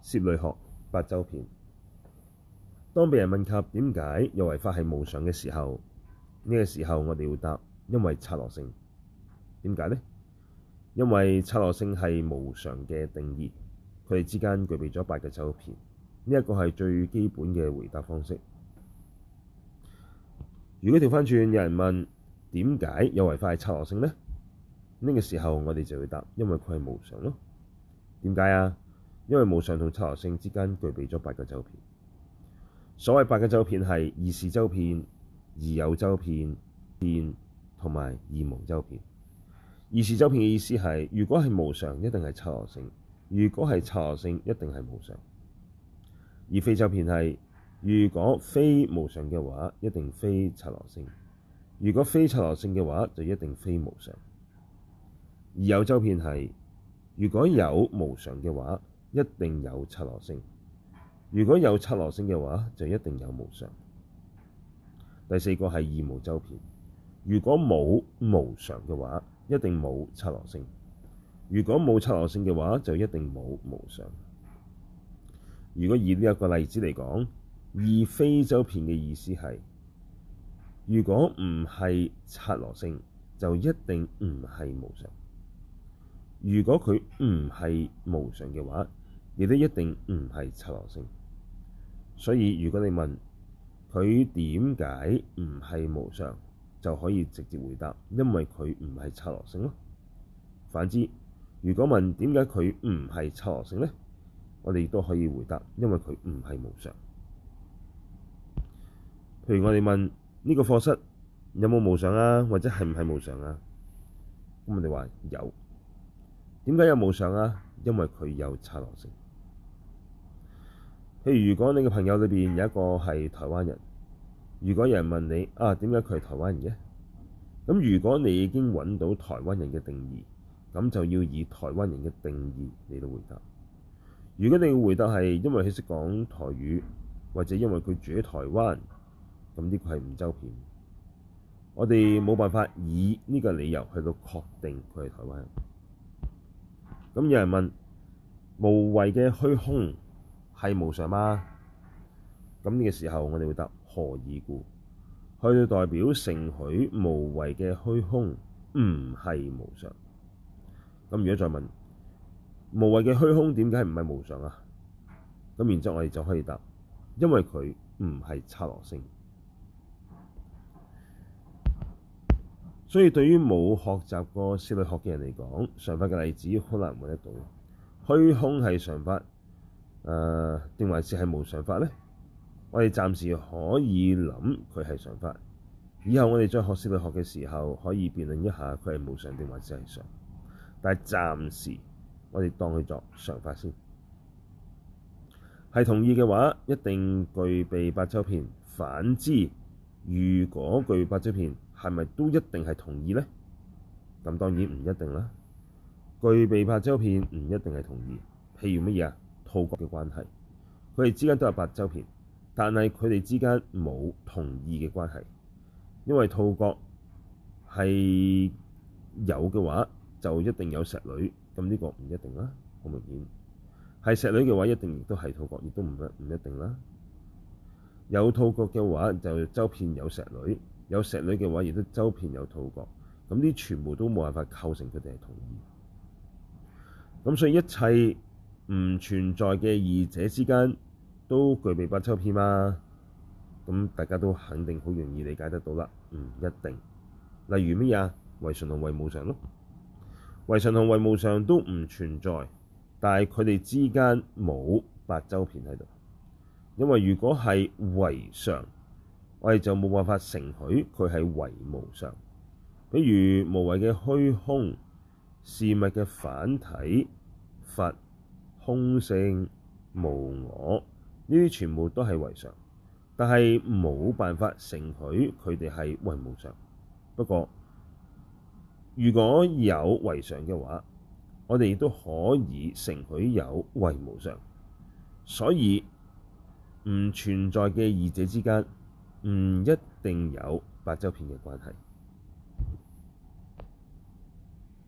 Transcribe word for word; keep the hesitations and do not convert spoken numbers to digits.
攝類學八洲片。當被人問及點解有為法係無常嘅時候，呢、這個時候我哋會答：因為剎那性。點解呢？因為剎那性係無常嘅定義，佢哋之間具備咗八個洲片。呢、這、一個係最基本嘅回答方式。如果調返轉，有人問點解有為法係剎那性呢？呢、這個時候我哋就會答：因為佢係無常咯。點解啊？因為無常同剎那性之間具備咗八個洲片。所謂八個洲片係二事洲片、二有洲片、片同埋二無洲片。二事洲片嘅意思係，如果係無常，一定係剎那性；如果係剎那性，一定係無常。而非洲片係，如果非無常嘅話，一定非剎那性；如果非剎那性嘅話，就一定非無常。二有洲片係，如果有無常嘅話，一定有剎那性；如果有剎那性嘅話，就一定有無常。第四個係二無洲片，如果冇無常嘅話，一定冇剎那性；如果冇剎那性嘅話，就一定冇無常。如果以呢一個例子嚟講，二非洲片嘅意思係，如果唔係剎那性，就一定唔係無常；如果佢唔係無常嘅話，亦都一定唔係剎那性。所以如果你問佢點解唔係無常，就可以直接回答：因為佢唔係剎那性咯。反之，如果問點解佢唔係剎那性呢？我哋亦都可以回答：因為佢唔係無常。譬如我哋問呢個課室有冇無常啊，或者係唔係無常啊？咁我哋話有。點解有無常啊？因為佢有剎那性。譬如如果你嘅朋友裏邊有一個係台灣人，如果有人問你啊，點解佢係台灣人嘅？咁如果你已經揾到台灣人嘅定義，咁就要以台灣人嘅定義嚟到回答。如果你嘅回答係因為佢識講台語，或者因為佢住喺台灣，咁呢個係五洲片。我哋冇辦法以呢個理由去到確定佢係台灣人。咁有人問無為嘅虛空係無常嗎？咁呢個時候我哋會答何以故？去到代表承許無為嘅虛空唔係無常。咁如果再問無為嘅虛空點解唔係無常啊？咁然之後我哋就可以答：因為佢唔係剎那性。所以對於冇學習過攝類學嘅人嚟講，常法嘅例子好難揾得到。虛空係常法，誒、呃、定還是係無常法呢？我哋暫時可以諗佢係常法，以後我哋再學攝類學嘅時候，可以辯論一下佢係無常定還是係常。但係暫時我哋當佢作常法先。係同意嘅話，一定具備八洲片。反之，如果具備八洲片，係咪都一定係同意呢？咁當然唔一定啦。具備八洲片唔一定係同意。譬如乜嘢啊？兔角嘅關係，佢哋之間都有八洲片，但係佢哋之間冇同意嘅關係。因為兔角係有嘅話，就一定有石女，咁呢個唔一定啦。好明顯，係石女嘅話，一定亦都係兔角，亦都唔唔一定啦。有兔角嘅話，就洲片有石女；有石女嘅話，亦都洲片有兔角。咁呢全部都冇辦法構成佢哋係同意。咁所以一切唔存在嘅二者之間都具備八洲片嘛？咁大家都肯定好容易理解得到啦。唔一定。例如乜嘢啊？唯常同唯無常咯。唯常同唯無常都唔存在，但係佢哋之間冇八洲片喺度。因為如果係唯常，我哋就冇辦法承許佢係唯無常。比如無為嘅虛空、事物嘅反體、佛、空性、無我，呢啲全部都係唯常，但係冇辦法承許佢哋係唯無常。不過如果有唯常嘅話，我哋亦都可以承許有唯無常。所以唔存在嘅二者之間唔一定有八洲片嘅關係。